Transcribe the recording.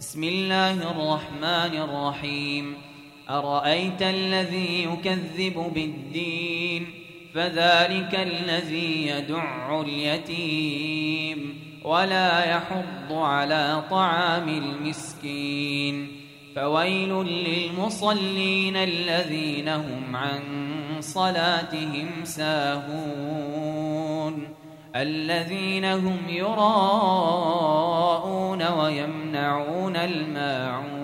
بسم الله الرحمن الرحيم أرأيت الذي يكذب بالدين فذلك الذي يدع اليتيم ولا يحض على طعام المسكين فويل للمصلين الذين هم عن صلاتهم ساهون الذين هم يراءون ويمنعون الماعون